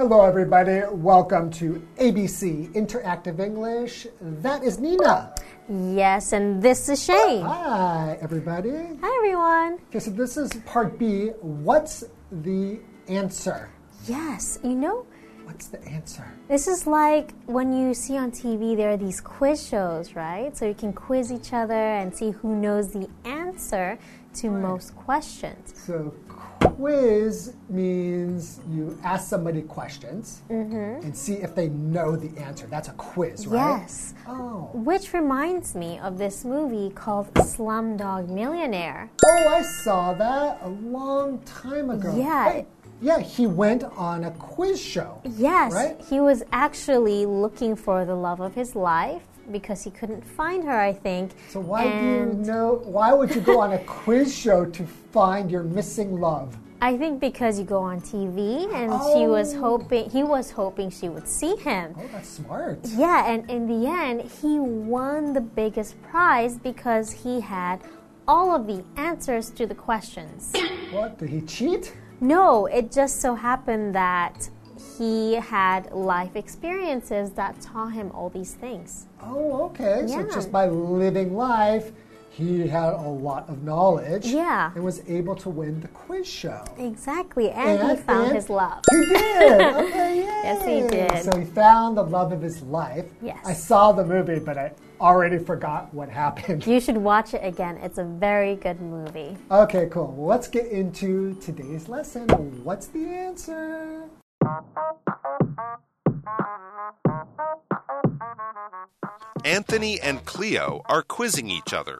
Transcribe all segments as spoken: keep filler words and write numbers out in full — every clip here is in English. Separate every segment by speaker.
Speaker 1: Hello, everybody. Welcome to A B C Interactive English. That is Nina.
Speaker 2: Yes, and this is Shane.
Speaker 1: Hi, everybody.
Speaker 2: Hi, everyone.
Speaker 1: Okay, so this is part B. What's the answer?
Speaker 2: Yes, you know,
Speaker 1: What's the answer?
Speaker 2: this is like when you see on T V, there are these quiz shows, right? So you can quiz each other and see who knows the answer to
Speaker 1: Right.
Speaker 2: most questions.
Speaker 1: So quiz means you ask somebody questions and see if they know the answer. That's a quiz, right?
Speaker 2: Yes.
Speaker 1: Oh.
Speaker 2: Which reminds me of this movie called Slumdog Millionaire.
Speaker 1: Oh, I saw that a long time ago.
Speaker 2: Yeah.
Speaker 1: Wait, yeah, he went on a quiz show.
Speaker 2: Yes,
Speaker 1: Right?
Speaker 2: he was actually looking for the love of his life because he couldn't find her, I think.
Speaker 1: So why
Speaker 2: and
Speaker 1: do you know? Why would you go on a quiz show to find your missing love?
Speaker 2: I think because you go on T V and she was
Speaker 1: Oh.
Speaker 2: hoping he was hoping she would see him.
Speaker 1: Oh, that's smart.
Speaker 2: Yeah, and in the end he won the biggest prize because he had all of the answers to the questions.
Speaker 1: What? Did he cheat?
Speaker 2: No, it just so happened that he had life experiences that taught him all these things.
Speaker 1: Oh, okay. So
Speaker 2: Yeah.
Speaker 1: just by living life, he had a lot of knowledge.
Speaker 2: Yeah.
Speaker 1: And was able to win the quiz show.
Speaker 2: Exactly, and, he found
Speaker 1: and
Speaker 2: his love.
Speaker 1: He did. Okay, yay.
Speaker 2: Yes, he did.
Speaker 1: So he found the love of his life.
Speaker 2: Yes.
Speaker 1: I saw the movie, but I already forgot what happened.
Speaker 2: You should watch it again. It's a very good movie.
Speaker 1: Okay, cool. Well, let's get into today's lesson. What's the answer?
Speaker 3: Anthony and Cleo are quizzing each other.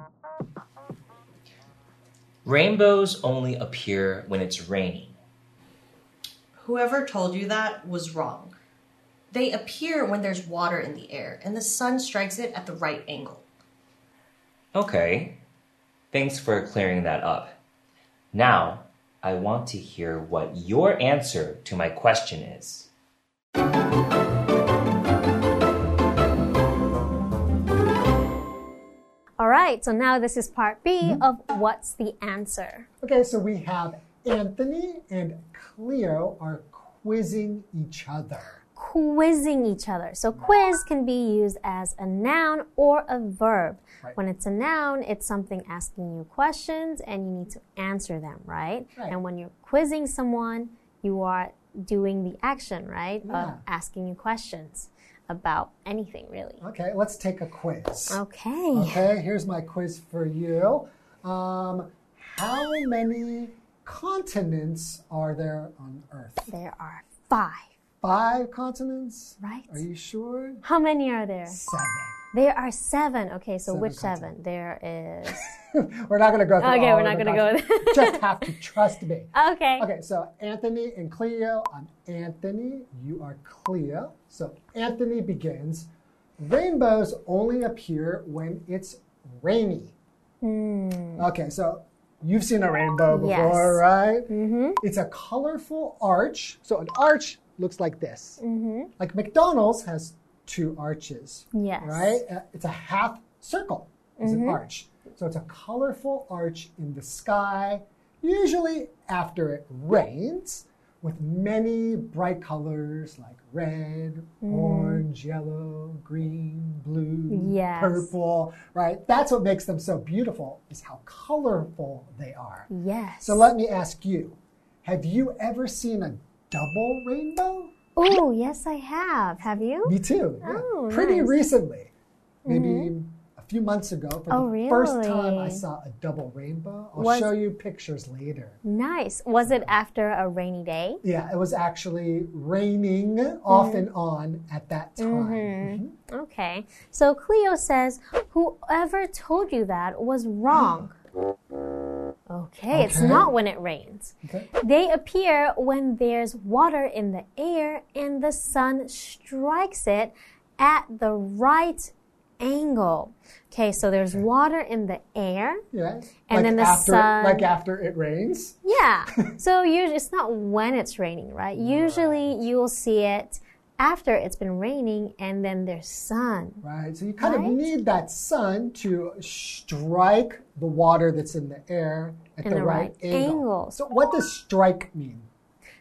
Speaker 4: Rainbows only appear when it's raining.
Speaker 5: Whoever told you that was wrong. They appear when there's water in the air and the sun strikes it at the right angle.
Speaker 4: Okay, thanks for clearing that up. Now, I want to hear what your answer to my question is.
Speaker 2: All right, so now this is part B of What's the Answer?
Speaker 1: Okay, so we have Anthony and Cleo are quizzing each other.
Speaker 2: Quizzing each other. So quiz can be used as a noun or a verb.
Speaker 1: Right.
Speaker 2: When it's a noun, it's something asking you questions and you need to answer them, right?
Speaker 1: Right.
Speaker 2: And when you're quizzing someone, you are doing the action, right?
Speaker 1: Yeah.
Speaker 2: Of asking you questions about anything, really.
Speaker 1: Okay, let's take a quiz.
Speaker 2: Okay.
Speaker 1: Okay, here's my quiz for you. Um, how many continents are there on Earth?
Speaker 2: There are five,
Speaker 1: Five continents?
Speaker 2: right?
Speaker 1: Are you sure?
Speaker 2: How many are there?
Speaker 1: Seven.
Speaker 2: There are seven. Okay, so
Speaker 1: Seven
Speaker 2: which
Speaker 1: continents.
Speaker 2: seven? There is.
Speaker 1: We're not going to go through
Speaker 2: Okay,
Speaker 1: all
Speaker 2: we're
Speaker 1: of
Speaker 2: not
Speaker 1: the
Speaker 2: gonna go
Speaker 1: continents.
Speaker 2: there.
Speaker 1: Just have to trust me.
Speaker 2: Okay.
Speaker 1: Okay, so Anthony and Cleo. I'm Anthony. You are Cleo. So Anthony begins. Rainbows only appear when it's rainy.
Speaker 2: Hmm.
Speaker 1: Okay, so you've seen a rainbow before,
Speaker 2: Yes.
Speaker 1: right? Mm-hmm. It's a colorful arch. So an arch looks like this. Mm-hmm. Like McDonald's has two arches.
Speaker 2: Yes.
Speaker 1: Right? Uh, It's a half circle. Is an arch. So it's a colorful arch in the sky, usually after it rains, with many bright colors like red, orange, yellow, green, blue,
Speaker 2: Yes.
Speaker 1: purple, right? That's what makes them so beautiful, is how colorful they are.
Speaker 2: Yes.
Speaker 1: So let me ask you, have you ever seen a double rainbow?
Speaker 2: Oh, yes, I have. Have you?
Speaker 1: Me too. Yeah.
Speaker 2: Oh,
Speaker 1: Pretty
Speaker 2: nice.
Speaker 1: recently. Maybe a few months ago. For
Speaker 2: Oh,
Speaker 1: the first time I
Speaker 2: really?
Speaker 1: saw a double rainbow. I'll
Speaker 2: Was-
Speaker 1: show you pictures later.
Speaker 2: Nice. Was it after a rainy day?
Speaker 1: Yeah, it was actually raining off and on at that time. Mhm.
Speaker 2: Okay. So Cleo says, whoever told you that was wrong. Okay, it's
Speaker 1: Okay.
Speaker 2: not when it rains.
Speaker 1: Okay.
Speaker 2: They appear when there's water in the air and the sun strikes it at the right angle. Okay, so there's water in the air.
Speaker 1: Yes.
Speaker 2: And
Speaker 1: like
Speaker 2: then the
Speaker 1: after,
Speaker 2: sun-
Speaker 1: Like after it rains.
Speaker 2: Yeah. So usually it's not when it's raining, right? Usually you'll see it after it's been raining and then there's sun.
Speaker 1: Right. So you kind
Speaker 2: Right.
Speaker 1: of need that sun to strike the water that's in the air at
Speaker 2: In
Speaker 1: the,
Speaker 2: the
Speaker 1: right,
Speaker 2: right
Speaker 1: angle.
Speaker 2: angle.
Speaker 1: So what does strike mean?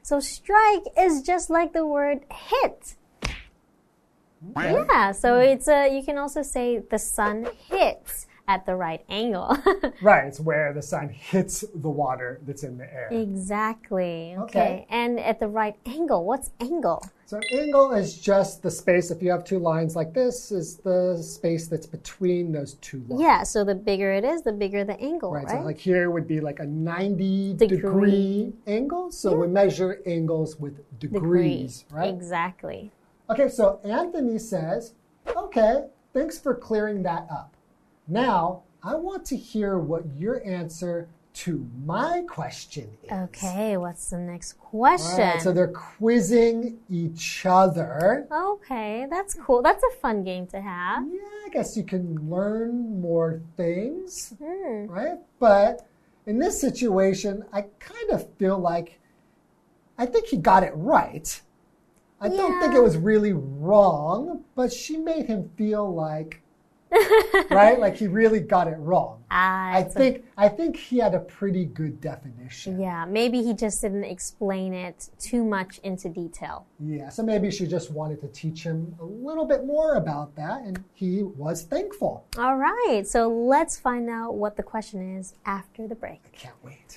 Speaker 2: So strike is just like the word hit.
Speaker 1: Okay.
Speaker 2: Yeah, so it's a, you can also say the sun hits at the right angle.
Speaker 1: Right, it's where the sun hits the water that's in the air.
Speaker 2: Exactly. Okay.
Speaker 1: Okay.
Speaker 2: And at the right angle. What's angle?
Speaker 1: So an angle is just the space, if you have two lines like this, is the space that's between those two lines.
Speaker 2: Yeah, so the bigger it is, the bigger the angle, right?
Speaker 1: Right, so like here would be like a ninety
Speaker 2: Degree.
Speaker 1: degree angle. So
Speaker 2: Yeah.
Speaker 1: we measure angles with degrees,
Speaker 2: Degree.
Speaker 1: right?
Speaker 2: Exactly.
Speaker 1: Okay, so Anthony says, okay, thanks for clearing that up. Now, I want to hear what your answer to my question is.
Speaker 2: Okay, what's the next
Speaker 1: All
Speaker 2: question?
Speaker 1: right, so they're quizzing each other.
Speaker 2: Okay, that's cool. That's a fun game to have.
Speaker 1: Yeah, I guess you can learn more things,
Speaker 2: Hmm.
Speaker 1: right? But in this situation, I kind of feel like I think he got it right. I don't think
Speaker 2: Yeah.
Speaker 1: it was really wrong, but she made him feel like, right? Like he really got it wrong.
Speaker 2: Ah,
Speaker 1: I
Speaker 2: it's a-
Speaker 1: think I think he had a pretty good definition.
Speaker 2: yeah, maybe he just didn't explain it too much into detail.
Speaker 1: Yeah, so maybe she just wanted to teach him a little bit more about that, and he was thankful.
Speaker 2: All right, so let's find out what the question is after the break.
Speaker 1: I can't wait.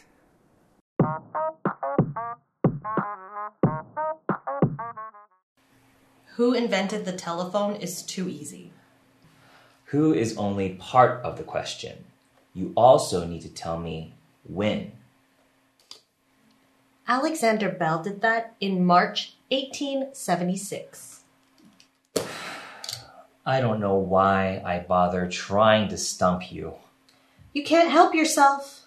Speaker 5: Who invented the telephone is too easy.
Speaker 4: Who is only part of the question. You also need to tell me when.
Speaker 5: Alexander Bell did that in March eighteen seventy-six.
Speaker 4: I don't know why I bother trying to stump you.
Speaker 5: You can't help yourself.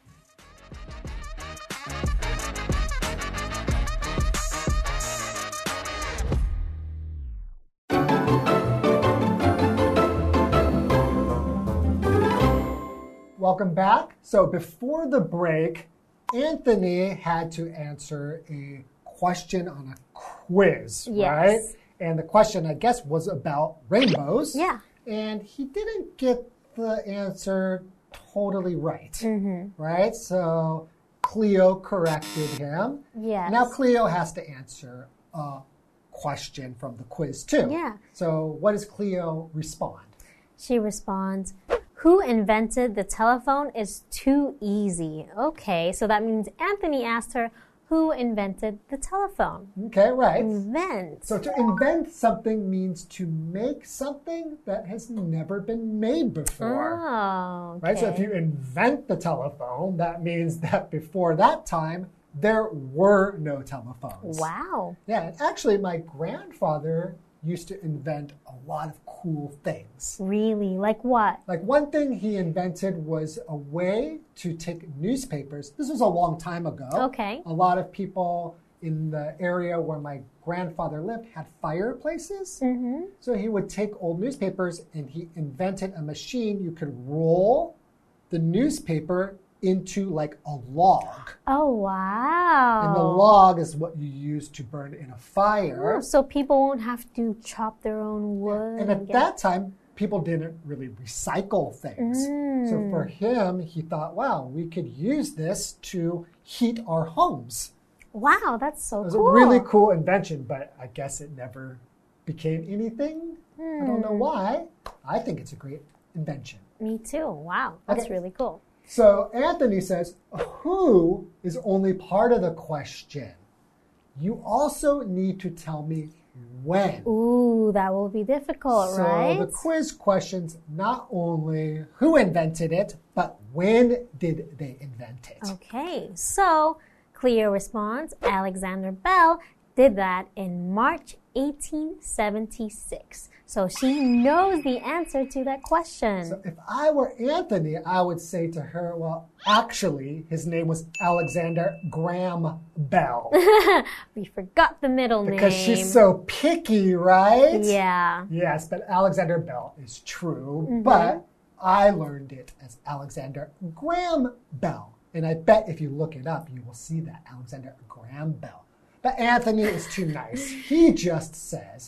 Speaker 1: Welcome back. So before the break, Anthony had to answer a question on a quiz,
Speaker 2: Yes.
Speaker 1: right? And the question, I guess, was about rainbows.
Speaker 2: Yeah.
Speaker 1: And he didn't get the answer totally right,
Speaker 2: Mm-hmm.
Speaker 1: right? So Cleo corrected him.
Speaker 2: Yes.
Speaker 1: Now Cleo has to answer a question from the quiz too.
Speaker 2: Yeah.
Speaker 1: So what does Cleo respond?
Speaker 2: She responds, who invented the telephone is too easy. Okay, so that means Anthony asked her, who invented the telephone?
Speaker 1: Okay, right.
Speaker 2: Invent.
Speaker 1: So to invent something means to make something that has never been made before.
Speaker 2: Oh, okay.
Speaker 1: Right? So if you invent the telephone, that means that before that time, there were no telephones.
Speaker 2: Wow.
Speaker 1: Yeah, and actually, my grandfather used to invent a lot of cool things.
Speaker 2: Really? Like what?
Speaker 1: Like one thing he invented was a way to take newspapers. This was a long time ago.
Speaker 2: Okay.
Speaker 1: A lot of people in the area where my grandfather lived had fireplaces.
Speaker 2: Mm-hmm.
Speaker 1: So he would take old newspapers and he invented a machine. You could roll the newspaper into like a log.
Speaker 2: Oh, wow.
Speaker 1: And the log is what you use to burn in a fire.
Speaker 2: Oh, so people won't have to chop their own wood.
Speaker 1: And at
Speaker 2: get-
Speaker 1: that time, people didn't really recycle things.
Speaker 2: Mm.
Speaker 1: So for him, he thought, wow, we could use this to heat our homes.
Speaker 2: Wow, that's so
Speaker 1: It was
Speaker 2: cool.
Speaker 1: a really cool invention, but I guess it never became anything. I don't know
Speaker 2: Hmm.
Speaker 1: why. I think it's a great invention.
Speaker 2: Me too. Wow, that's
Speaker 1: Okay.
Speaker 2: really cool.
Speaker 1: So Anthony says, who is only part of the question? You also need to tell me when.
Speaker 2: Ooh, that will be difficult,
Speaker 1: so
Speaker 2: right?
Speaker 1: the quiz questions not only who invented it, but when did they invent it?
Speaker 2: Okay, so Cleo responds, Alexander Bell did that in March eighteen seventy-six. So she knows the answer to that question.
Speaker 1: So if I were Anthony, I would say to her, well, actually, his name was Alexander Graham Bell.
Speaker 2: We forgot the middle
Speaker 1: Because
Speaker 2: name.
Speaker 1: she's so picky, right?
Speaker 2: Yeah.
Speaker 1: Yes, but Alexander Bell is true,
Speaker 2: Mm-hmm.
Speaker 1: but I learned it as Alexander Graham Bell. And I bet if you look it up, you will see that Alexander Graham Bell. But Anthony is too nice. He just says,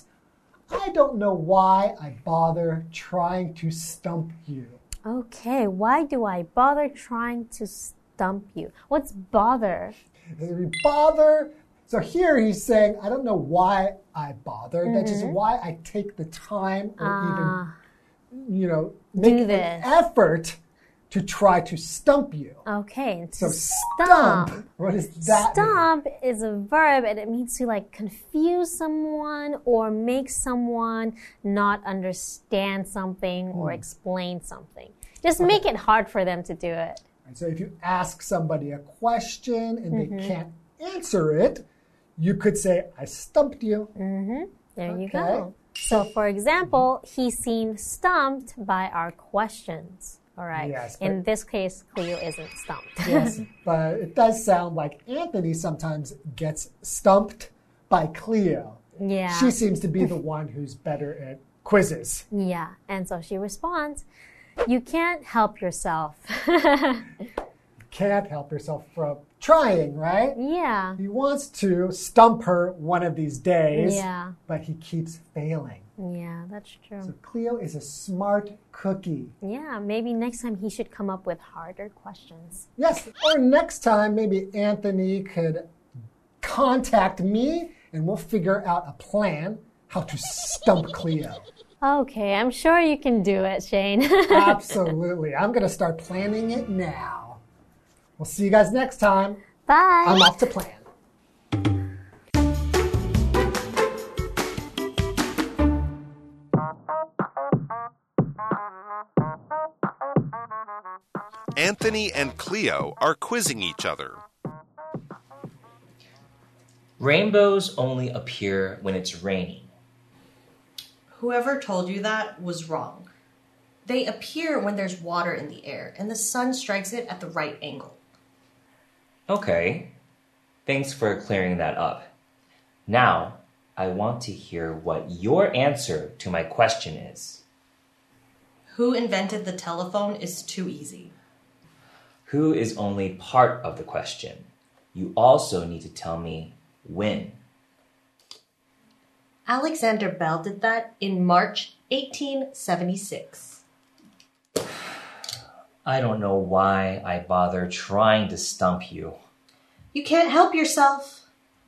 Speaker 1: I don't know why I bother trying to stump you.
Speaker 2: Okay, why do I bother trying to stump you? What's bother?
Speaker 1: Bother So here he's saying, I don't know why I bothered. Mm-hmm. That's just why I take the time or uh, even, you know, make an effort to try to stump you.
Speaker 2: Okay.
Speaker 1: So stump. stump. What does that
Speaker 2: Stump
Speaker 1: mean?
Speaker 2: is a verb and it means to like confuse someone or make someone not understand something mm. or explain something. Just okay. make it hard for them to do it.
Speaker 1: Right, so if you ask somebody a question and
Speaker 2: mm-hmm.
Speaker 1: they can't answer it, you could say, I stumped you.
Speaker 2: Mm-hmm. There
Speaker 1: okay.
Speaker 2: you go. So for example, he seemed stumped by our questions. All right.
Speaker 1: Yes,
Speaker 2: in this case, Cleo isn't stumped.
Speaker 1: Yes, but it does sound like Anthony sometimes gets stumped by Cleo.
Speaker 2: Yeah.
Speaker 1: She seems to be the one who's better at quizzes.
Speaker 2: Yeah, and so she responds, you can't help yourself.
Speaker 1: Can't help yourself from trying, right?
Speaker 2: Yeah.
Speaker 1: He wants to stump her one of these days,
Speaker 2: yeah.
Speaker 1: but he keeps failing.
Speaker 2: Yeah, that's true.
Speaker 1: So Cleo is a smart cookie.
Speaker 2: Yeah, maybe next time he should come up with harder questions.
Speaker 1: Yes, or next time maybe Anthony could contact me and we'll figure out a plan how to stump Cleo.
Speaker 2: Okay, I'm sure you can do it, Shane.
Speaker 1: Absolutely. I'm going to start planning it now. We'll see you guys next time.
Speaker 2: Bye.
Speaker 1: I'm off to plan.
Speaker 3: Anthony and Cleo are quizzing each other.
Speaker 4: Rainbows only appear when it's raining.
Speaker 5: Whoever told you that was wrong. They appear when there's water in the air and the sun strikes it at the right angle.
Speaker 4: Okay. Thanks for clearing that up. Now, I want to hear what your answer to my question is.
Speaker 5: Who invented the telephone is too easy.
Speaker 4: Who is only part of the question. You also need to tell me when.
Speaker 5: Alexander Bell did that in March eighteen seventy-six.
Speaker 4: I don't know why I bother trying to stump you.
Speaker 5: You can't help yourself.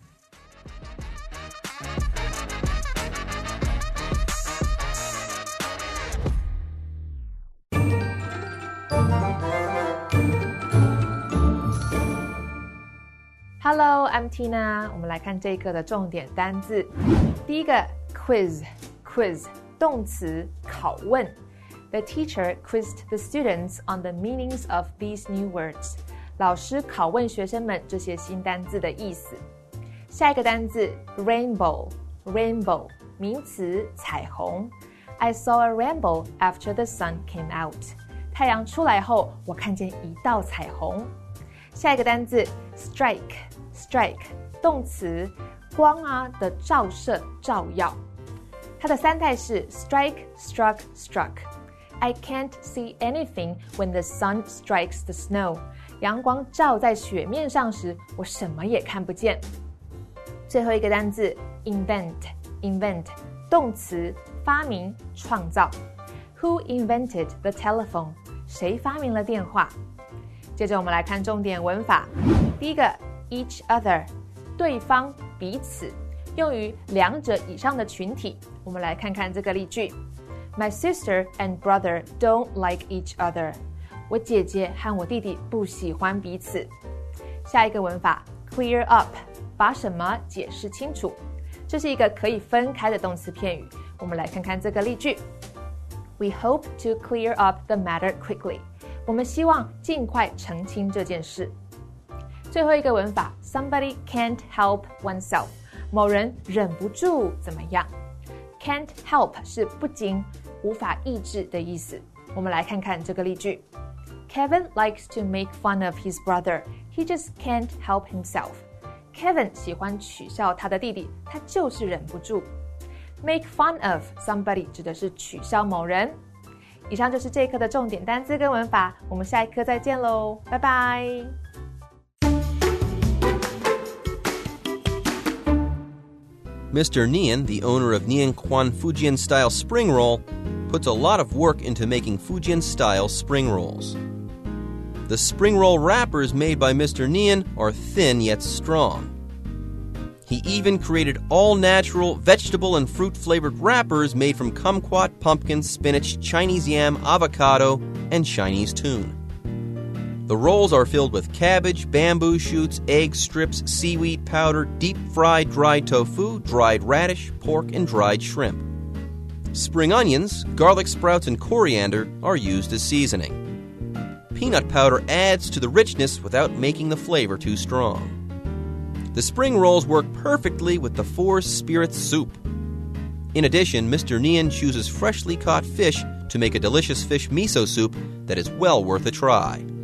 Speaker 6: Hello, I'm Tina. 我们来看这一课的重点单字。第一个 quiz, quiz 动詞拷問。The teacher quizzed the students on the meanings of these new words. 老師拷問學生們這些新單字的意思。下一個單字 rainbow, rainbow 名詞彩虹。I saw a rainbow after the sun came out. 太陽出來後，我看見一道彩虹。下一個單字 strike, strike 動詞光啊的照射照耀。它的三態是 strike, struck, struck。I can't see anything when the sun strikes the snow. 陽光照在雪面上時，我什麼也看不見。最後一個單字 invent, invent 動詞發明創造。Who invented the telephone? 誰發明了電話？接着我們來看重點文法。第一個 each other 對方彼此，用於兩者以上的群體。我們來看看這個例句。My sister and brother don't like each other. 我姐姐和我弟弟不喜歡彼此。下一個文法 clear up 把什麼解釋清楚。這是一個可以分開的動詞片語。我們來看看這個例句。We hope to clear up the matter quickly. 我們希望盡快澄清這件事。最後一個文法 somebody can't help oneself. 某人忍不住怎麼樣。Can't help 是不經無法抑制的意思。我們來看看這個例句。Kevin likes to make fun of his brother. He just can't help himself. Kevin 喜歡取笑他的弟弟，他就是忍不住。Make fun of somebody 指的是取笑某人。以上就是這一課的重點單字跟文法，我們下一課再見嘍，拜拜。
Speaker 7: Mister Nian, the owner of Nian Quan Fujian-style spring roll, puts a lot of work into making Fujian-style spring rolls. The spring roll wrappers made by Mister Nian are thin yet strong. He even created all-natural vegetable and fruit-flavored wrappers made from kumquat, pumpkin, spinach, Chinese yam, avocado, and Chinese tune. The rolls are filled with cabbage, bamboo shoots, egg strips, seaweed powder, deep-fried dried tofu, dried radish, pork, and dried shrimp. Spring onions, garlic sprouts, and coriander are used as seasoning. Peanut powder adds to the richness without making the flavor too strong. The spring rolls work perfectly with the Four Spirits soup. In addition, Mister Nian chooses freshly caught fish to make a delicious fish miso soup that is well worth a try.